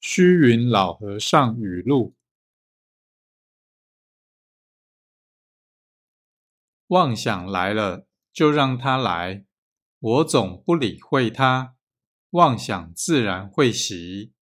虚云老和尚语录：妄想来了，就让它来，我总不理会它，妄想自然会息。